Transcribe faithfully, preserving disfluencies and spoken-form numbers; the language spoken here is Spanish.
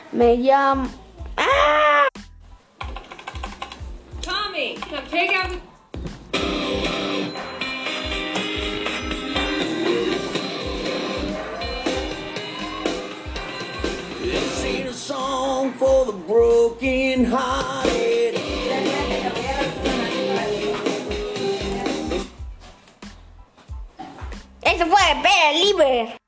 Me llamo... ¡Ah! Tommy, now take out the... This ain't a song for the broken hearted. Eso fue Pere Libre.